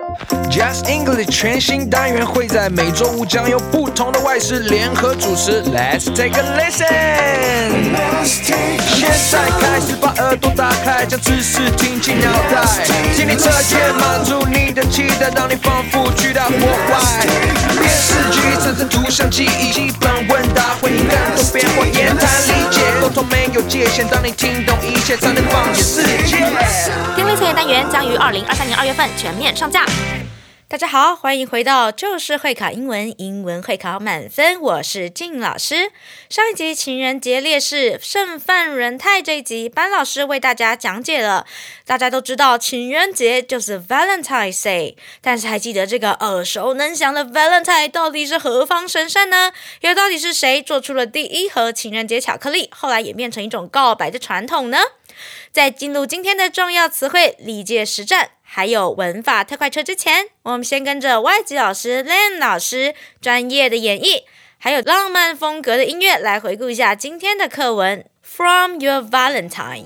Just English 全新单元会在每周五将有不同的外师联合主持。Let's take a listen。现在开始把耳朵打开，将知识听进脑袋，心理测验满足你的期待，让你仿佛去到国外。电视剧产生图像记忆，基本问答会更多变化，言谈理解，沟通没有界限，当你听懂一切，才能放眼世界。 听力测验单元将于2023年2月份全面上架。大家好，欢迎回到就是会考英文，英文会考满分，我是静老师。上一集情人节烈士盛范仁泰这一集，班老师为大家讲解了。大家都知道情人节就是 Valentine's Day， 但是还记得这个耳熟能详的 Valentine 到底是何方神圣呢？又到底是谁做出了第一盒情人节巧克力，后来演变成一种告白的传统呢？在进入今天的重要词汇、历届实战还有文法特快车之前，我们先跟着外籍老师 Len 老师专业的演绎，还有浪漫风格的音乐来回顾一下今天的课文 From Your Valentine。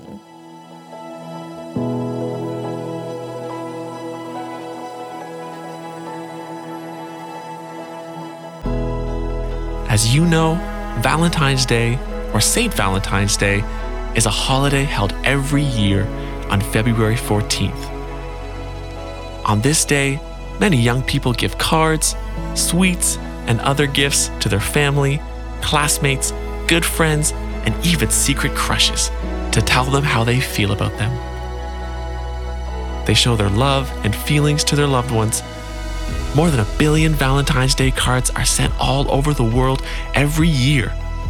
As you know, Valentine's Day, or St. Valentine's Day, is a holiday held every year on February 14th. On this day, many young people give cards, sweets, and other gifts to their family, classmates, good friends, and even secret crushes to tell them how they feel about them. They show their love and feelings to their loved ones. More than 1 billion Valentine's Day cards are sent all over the world every year.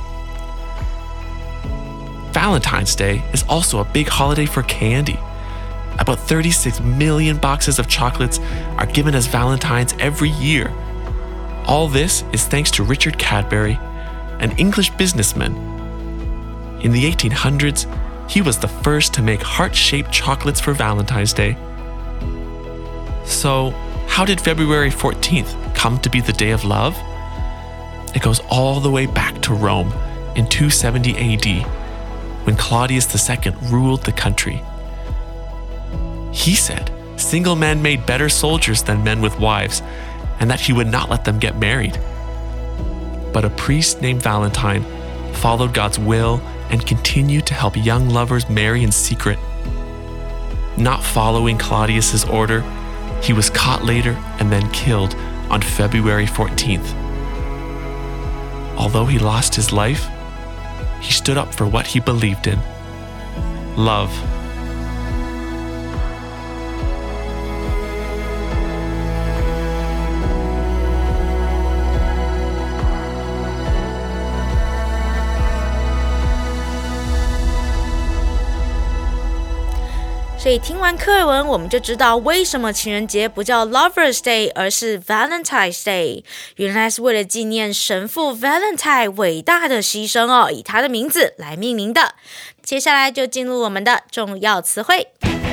Valentine's Day is also a big holiday for candy. About 36 million boxes of chocolates are given as Valentines every year. All this is thanks to Richard Cadbury, an English businessman. In the 1800s, he was the first to make heart-shaped chocolates for Valentine's Day. So, how did February 14th come to be the Day of Love? It goes all the way back to Rome in 270 AD, when Claudius II ruled the country. He said single men made better soldiers than men with wives, and that he would not let them get married. But a priest named Valentine followed God's will and continued to help young lovers marry in secret. Not following Claudius's order, he was caught later and then killed on February 14th. Although he lost his life, he stood up for what he believed in: love. .所以听完课文，我们就知道为什么情人节不叫 Lover's Day， 而是 Valentine's Day。原来是为了纪念神父 Valentine 伟大的牺牲哦，以他的名字来命名的。接下来就进入我们的重要词汇。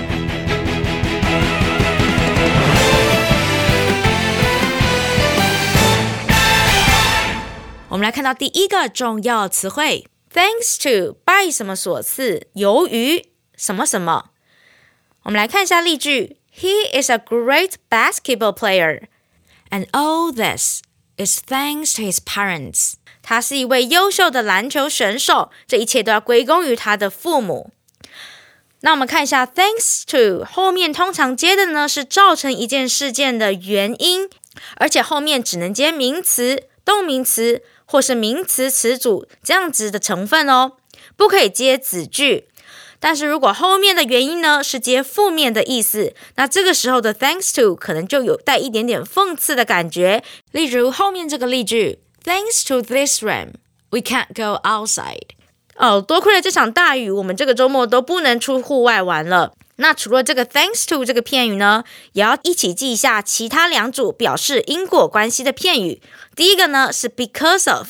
我们来看到第一个重要词汇 Thanks to 拜什么所赐，由于什么什么。我们来看一下例句 He is a great basketball player, and all this is thanks to his parents. 他是一位优秀的篮球选手，这一切都要归功于他的父母。那我们看一下 thanks to 后面通常接的呢是造成一件事件的原因，而且后面只能接名词、动名词或是名词词组这样子的成分哦，不可以接子句。但是如果后面的原因呢是接负面的意思，那这个时候的 thanks to 可能就有带一点点讽刺的感觉。例如后面这个例句 Thanks to this rain, we can't go outside. 多亏了这场大雨，我们这个周末都不能出户外玩了。那除了这个 thanks to 这个片语呢，也要一起记一下其他两组表示因果关系的片语。第一个呢是 because of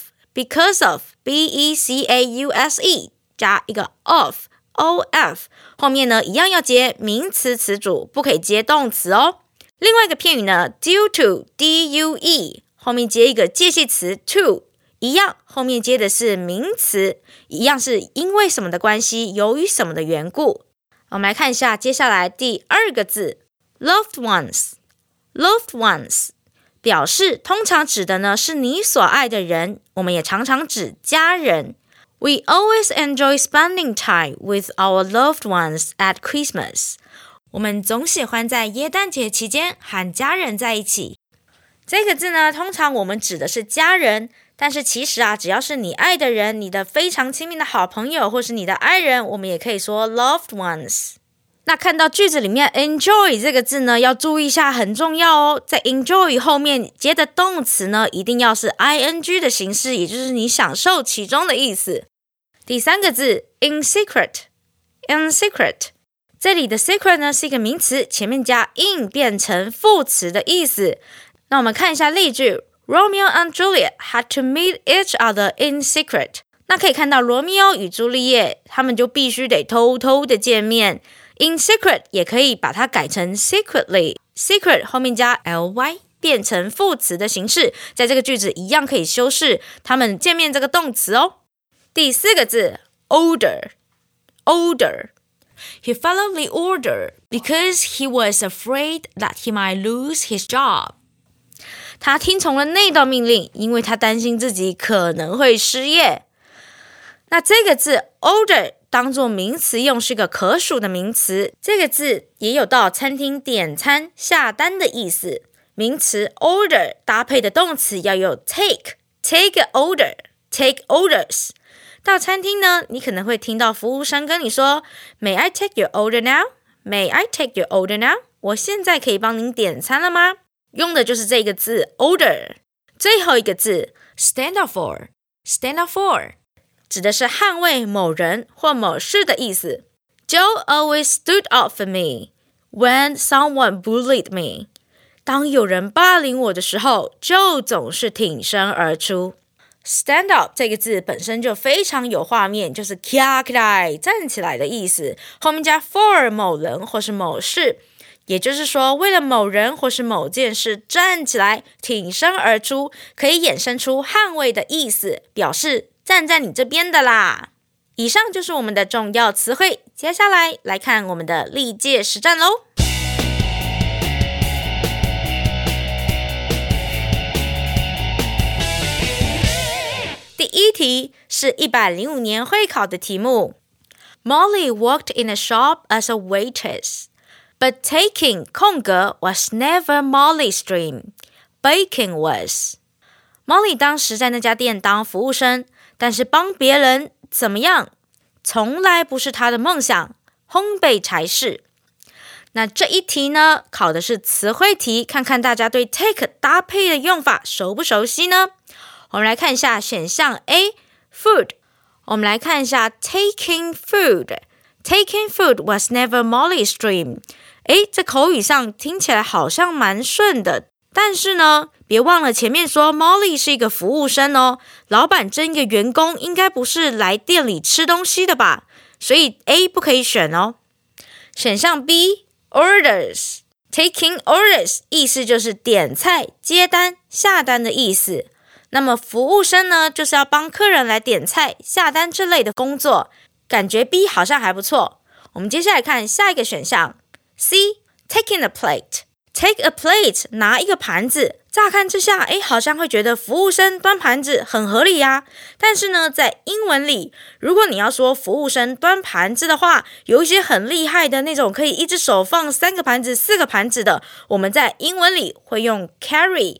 B-E-C-A-U-S-E 加一个 of后面呢一样要接名词词组，不可以接动词哦。另外一个片语呢 due to D-U-E 后面接一个介系词 to， 一样后面接的是名词，一样是因为什么的关系，由于什么的缘故。我们来看一下接下来第二个字 loved ones loved ones 表示通常指的呢是你所爱的人，我们也常常指家人。We always enjoy spending time with our loved ones at Christmas. 我们总喜欢在耶诞节期间和家人在一起。这个字呢，通常我们指的是家人，但是其实只要是你爱的人，你的非常亲密的好朋友，或是你的爱人，我们也可以说 loved ones。那看到句子里面 enjoy 这个字呢，要注意一下，很重要哦。在 enjoy 后面接的动词呢，一定要是 ing 的形式，也就是你享受其中的意思。第三个字 in secret， 这里的 secret 呢是一个名词，前面加 in 变成副词的意思。那我们看一下例句 Romeo and Juliet had to meet each other in secret。 那可以看到罗密欧与朱丽叶他们就必须得偷偷的见面。In secret 也可以把它改成 secretly， secret 后面加 ly 变成副词的形式，在这个句子一样可以修饰他们见面这个动词哦。第四个字 order， He followed the order because he was afraid that he might lose his job。 他听从了那道命令，因为他担心自己可能会失业。那这个字 order当作名词用是个可数的名词，这个字也有到餐厅点餐下单的意思。名词 order 搭配的动词要有 take order， take orders。 到餐厅呢，你可能会听到服务生跟你说 May I take your order now? May I take your order now? 我现在可以帮您点餐了吗？用的就是这个字 order。 最后一个字 stand up for， 指的是捍卫某人或某事的意思。 Joe always stood up for me when someone bullied me。 当有人霸凌我的时候， Joe 总是挺身而出。 Stand up 这个字本身就非常有画面，就是起来站起来的意思，后面加 for 某人或是某事，也就是说为了某人或是某件事站起来挺身而出，可以衍生出捍卫的意思，表示站在你这边的啦。以上就是我们的重要词汇，接下来来看我们的历届实战咯。第一题是105年会考的题目。 Molly worked in a shop as a waitress, but taking 空格 was never Molly's dream. Baking was. Molly 当时在那家店当服务生，但是帮别人怎么样从来不是她的梦想，烘焙才是。那这一题呢，考的是词汇题，看看大家对 take 搭配的用法熟不熟悉呢？我们来看一下选项 A food， 我们来看一下 taking food was never Molly's dream。 这口语上听起来好像蛮顺的，但是呢别忘了前面说 Molly 是一个服务生哦，老板征一个员工应该不是来店里吃东西的吧，所以 A 不可以选哦。选项 B orders， taking orders 意思就是点菜接单下单的意思，那么服务生呢就是要帮客人来点菜下单之类的工作，感觉 B 好像还不错。我们接下来看下一个选项 C taking a plate。 Take a plate 拿一个盘子，乍看之下好像会觉得服务生端盘子很合理呀。但是呢在英文里，如果你要说服务生端盘子的话，有一些很厉害的那种可以一只手放3个盘子4个盘子的，我们在英文里会用 carry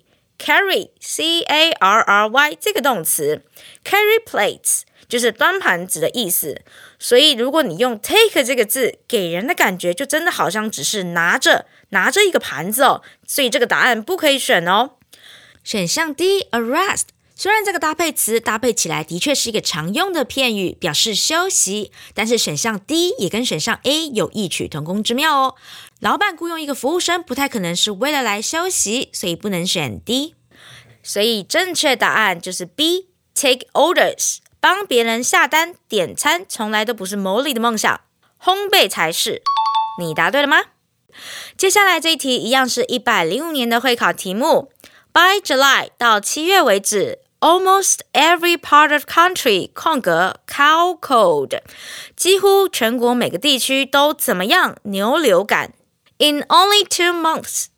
C-A-R-R-Y 这个動詞 carry plates 就是端盤子的意思，所以如果你用 take 这个字，给人的感觉就真的好像只是拿着一个盘子哦，所以这个答案不可以选哦。选项 D arrest， 虽然这个搭配词搭配起来的确是一个常用的片语，表示休息，但是选项 D 也跟选项 A 有异曲同工之妙哦。老板雇佣一个服务生不太可能是为了来休息，所以不能选 D。 所以正确答案就是 B take orders， 帮别人下单点餐从来都不是Molly的梦想，烘焙才是。你答对了吗？接下来这一题一样是105年的会考题目。 By July 到7月为止， Almost every part of country 空格 cow cold， 几乎全国每个地区都怎么样牛流感。In only 2 months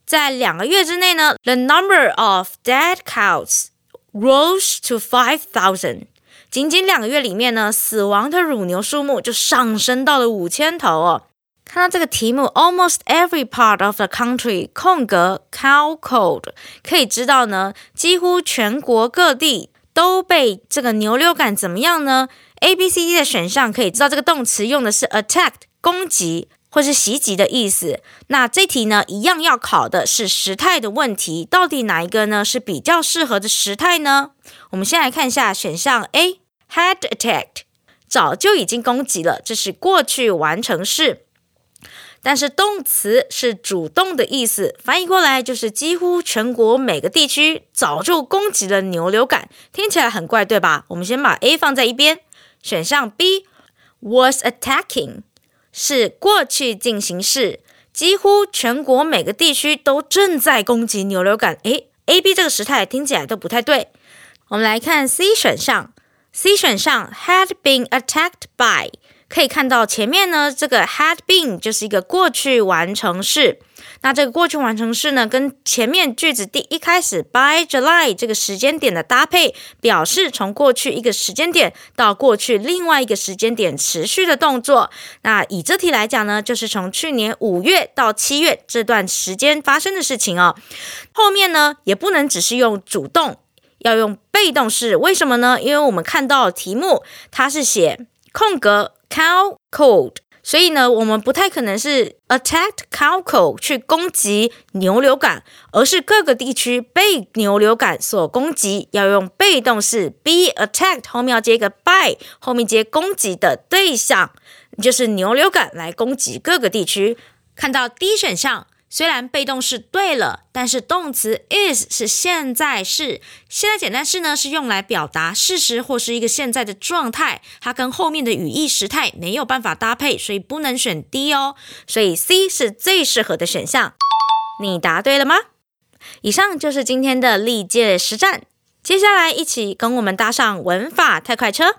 在2个月之内呢 ，the number of dead cows rose to 5,000。仅仅2个月里面呢，死亡的乳牛数目就上升到了5000头哦。看到这个题目 almost every part of the country 空格 cow cold 可以知道呢，几乎全国各地都被这个牛流感怎么样呢？ A、B、C、D 的选项可以知道这个动词用的是 attacked 攻击或是袭击的意思。那这题呢，一样要考的是时态的问题，到底哪一个呢是比较适合的时态呢？我们先来看一下选项 A had attacked 早就已经攻击了，这是过去完成式。但是动词是主动的意思，翻译过来就是几乎全国每个地区早就攻击了牛流感，听起来很怪对吧？我们先把 A 放在一边。选项 B was attacking 是过去进行式，几乎全国每个地区都正在攻击牛流感。A、B 这个时态听起来都不太对。我们来看 C 选项 ，C 选项 had been attacked by可以看到前面呢，这个 had been 就是一个过去完成式。那这个过去完成式呢，跟前面句子第一开始 by July 这个时间点的搭配，表示从过去一个时间点到过去另外一个时间点持续的动作。那以这题来讲呢，就是从去年5月到7月这段时间发生的事情哦。后面呢，也不能只是用主动，要用被动式。为什么呢？因为我们看到题目它是写空格cow cold， 所以呢，我们不太可能是 attacked cow cold 去攻击牛流感，而是各个地区被牛流感所攻击，要用被动式 be attacked 后面要接一个 by， 后面接攻击的对象，就是牛流感来攻击各个地区。看到 D 选项，虽然被动式对了，但是动词 is 是现在式，现在简单式呢是用来表达事实或是一个现在的状态，它跟后面的语义时态没有办法搭配，所以不能选 D 哦。所以 C 是最适合的选项。你答对了吗？以上就是今天的历届实战，接下来一起跟我们搭上文法太快车。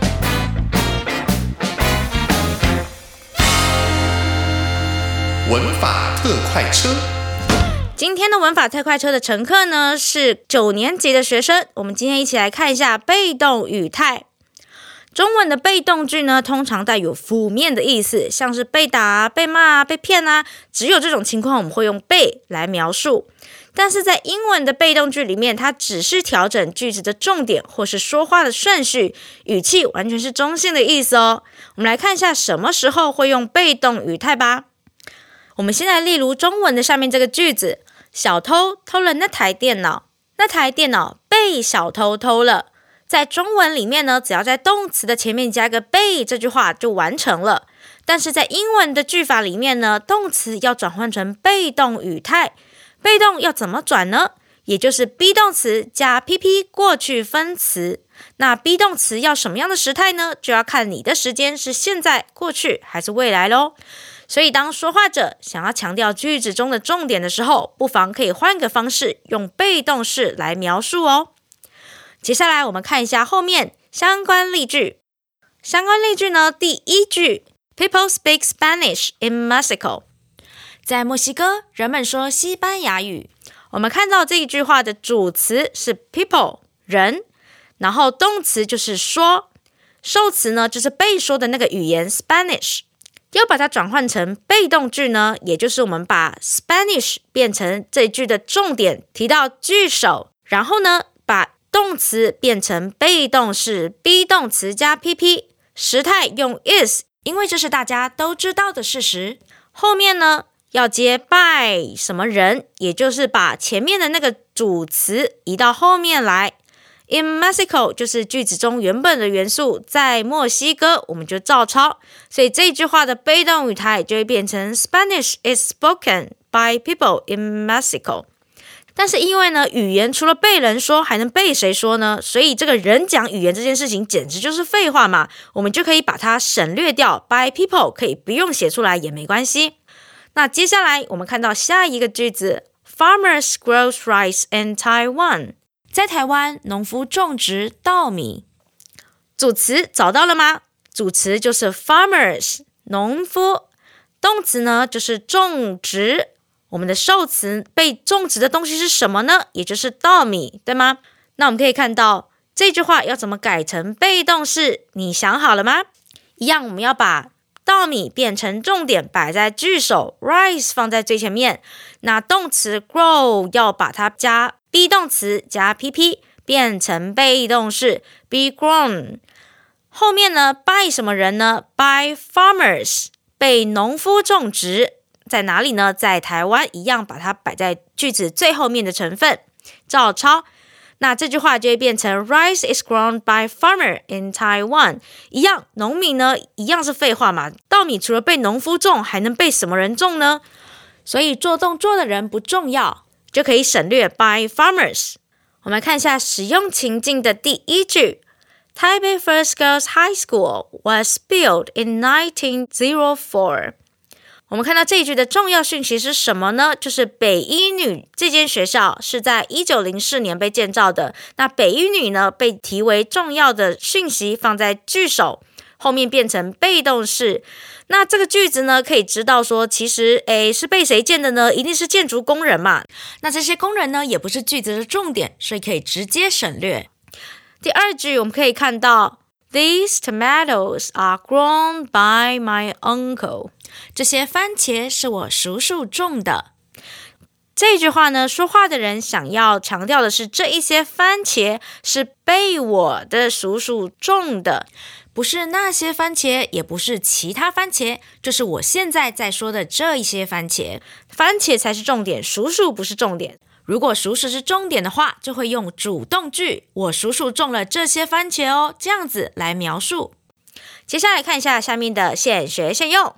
文法特快车， 今天的文法特快车的乘客呢是9年级的学生。我们今天一起来看一下被动语态。中文的被动句呢，通常带有负面的意思，像是被打、被骂、被骗啊，只有这种情况我们会用被来描述。但是在英文的被动句里面，它只是调整句子的重点或是说话的顺序，语气完全是中性的意思哦。我们来看一下什么时候会用被动语态吧。我们先来例如中文的下面这个句子，小偷偷了那台电脑，那台电脑被小偷偷了。在中文里面呢，只要在动词的前面加个被，这句话就完成了。但是在英文的句法里面呢，动词要转换成被动语态，被动要怎么转呢？也就是 be 动词加 PP 过去分词。那 be 动词要什么样的时态呢？就要看你的时间是现在、过去还是未来咯。所以当说话者想要强调句子中的重点的时候，不妨可以换个方式，用被动式来描述哦。接下来我们看一下后面相关例句。相关例句呢，第一句 People speak Spanish in Mexico。 在墨西哥，人们说西班牙语。我们看到这一句话的主词是 people 人，然后动词就是说，受词呢就是被说的那个语言 Spanish。要把它转换成被动句呢，也就是我们把 Spanish 变成这句的重点，提到句首，然后呢把动词变成被动式 be 动词加 PP， 时态用 is， 因为这是大家都知道的事实。后面呢要接 by 什么人，也就是把前面的那个主词移到后面来。In Mexico 就是句子中原本的元素，在墨西哥我们就照抄，所以这句话的被动语态就会变成 Spanish is spoken by people in Mexico。 但是因为呢，语言除了被人说还能被谁说呢？所以这个人讲语言这件事情简直就是废话嘛，我们就可以把它省略掉， by people 可以不用写出来也没关系。那接下来我们看到下一个句子 Farmers grow rice in Taiwan。在台湾，农夫种植稻米。主词找到了吗？主词就是 farmers 农夫，动词呢就是种植我们的受词被种植的东西是什么呢？也就是稻米，对吗？那我们可以看到这句话要怎么改成被动式，你想好了吗？一样，我们要把稻米变成重点摆在句首 ，rice 放在最前面。那动词 grow 要把它加 be 动词加 pp 变成被动式 be grown。后面呢 by 什么人呢？ by farmers 被农夫种植，在哪里呢？在台湾，一样把它摆在句子最后面的成分，照抄。那这句话就会变成 Rice is grown by farmer in Taiwan。 一样，农民呢一样是废话嘛，稻米除了被农夫种，还能被什么人种呢？所以做动作的人不重要，就可以省略 by farmers。 我们来看一下使用情境的第一句， Taipei First Girls High School was built in 1904。我们看到这一句的重要讯息是什么呢？就是北一女这间学校是在1904年被建造的。那北一女呢被提为重要的讯息放在句首，后面变成被动式。那这个句子呢可以知道说，其实是被谁建的呢？一定是建筑工人嘛。那这些工人呢也不是句子的重点，所以可以直接省略。第二句我们可以看到These tomatoes are grown by my uncle。 这些番茄是我叔叔种的。这句话呢，说话的人想要强调的是，这一些番茄是被我的叔叔种的，不是那些番茄，也不是其他番茄，就是我现在在说的这一些番茄。番茄才是重点，叔叔不是重点。如果叔叔是重点的话，就会用主动句，我叔叔种了这些番茄哦，这样子来描述。接下来看一下下面的现学现用。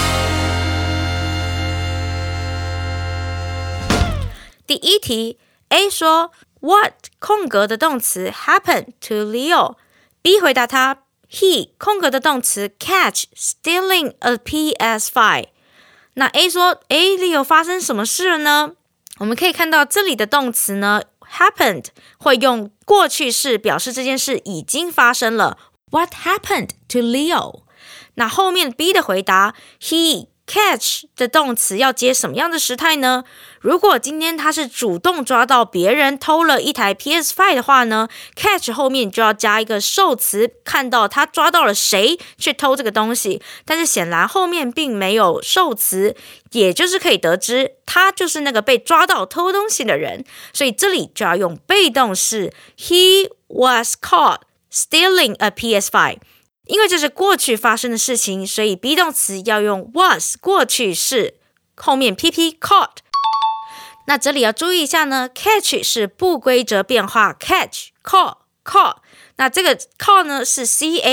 第一题 A 说 What 空格的动词 happened to Leo。 B 回答他 He 空格的动词 catch stealing a PS5。 那 A 说Leo 发生什么事了呢？我们可以看到这里的动词呢 happened 会用过去式表示这件事已经发生了。 What happened to Leo？ 那后面 B 的回答 He catch 的动词要接什么样的时态呢？如果今天他是主动抓到别人偷了一台 PS5 的话呢， catch 后面就要加一个受词，看到他抓到了谁去偷这个东西，但是显然后面并没有受词，也就是可以得知他就是那个被抓到偷东西的人，所以这里就要用被动式 He was caught stealing a PS5。因为这是过去发生的事情，所以 be 动词要用 was 过去式，后面 pp caught。 那这里要注意一下呢， catch 是不规则变化 catch call。 那这个 call 呢是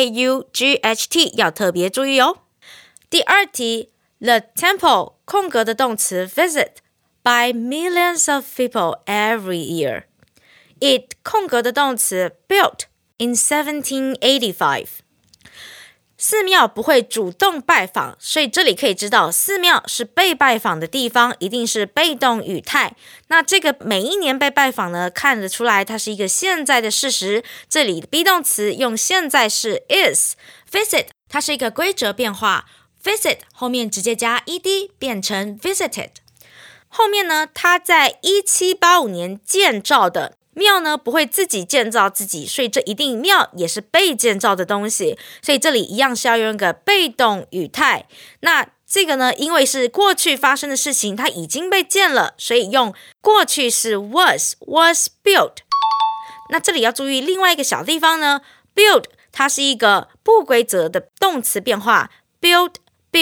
caught， 要特别注意哦。第二题 The temple 空格的动词 visit by millions of people every year。 It 空格的动词 built in 1785。寺庙不会主动拜访，所以这里可以知道寺庙是被拜访的地方，一定是被动语态。那这个每一年被拜访呢，看得出来它是一个现在的事实，这里的 be 动词用现在式 is。 visit 它是一个规则变化， visit 后面直接加 ed 变成 visited。 后面呢，它在1785年建造的庙呢不会自己建造自己，所以这一定庙也是被建造的东西，所以这里一样是要用一个被动语态。那这个呢，因为是过去发生的事情，它已经被建了，所以用过去式 was built。 那这里要注意另外一个小地方呢， build 它是一个不规则的动词变化， built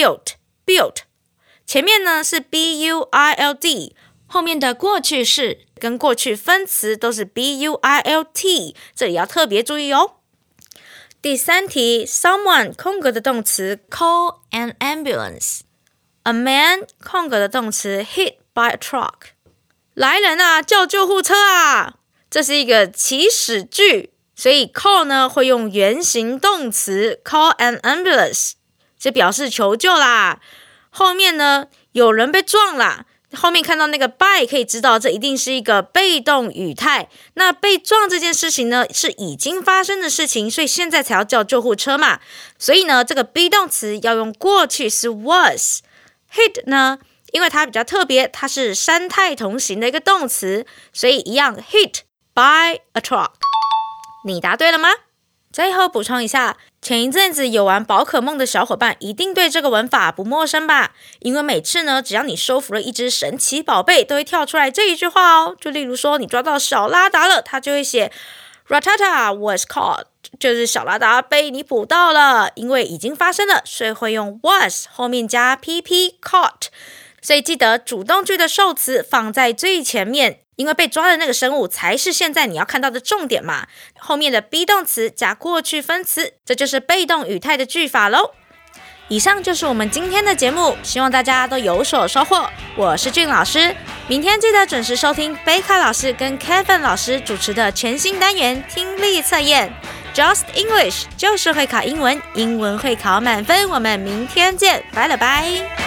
前面呢是 build， 后面的过去式跟过去分词都是 built， 这里要特别注意哦。第三题 someone 空格的动词 call an ambulance。 A man 空格的动词 hit by a truck。 来人啊，叫救护车啊！这是一个祈使句，所以 call 呢会用原形动词 call an ambulance， 这表示求救啦。后面呢有人被撞啦，后面看到那个 by 可以知道这一定是一个被动语态。那被撞这件事情呢是已经发生的事情，所以现在才要叫救护车嘛。所以呢这个 be 动词要用过去式 was。 hit 呢因为它比较特别，它是山态同形的一个动词，所以一样 hit by a truck。你答对了吗？最后补充一下，前一阵子有玩宝可梦的小伙伴一定对这个文法不陌生吧？因为每次呢，只要你收服了一只神奇宝贝，都会跳出来这一句话哦。就例如说，你抓到小拉达了，它就会写 Rattata was caught， 就是小拉达被你捕到了，因为已经发生了，所以会用 was 后面加 pp caught。所以记得主动句的受词放在最前面，因为被抓的那个生物才是现在你要看到的重点嘛。后面的 be 动词加过去分词，这就是被动语态的句法咯。以上就是我们今天的节目，希望大家都有所收获。我是俊老师，明天记得准时收听贝卡老师跟 Kevin 老师主持的全新单元听力测验 Just English， 就是会考英文，英文会考满分。我们明天见，拜了拜。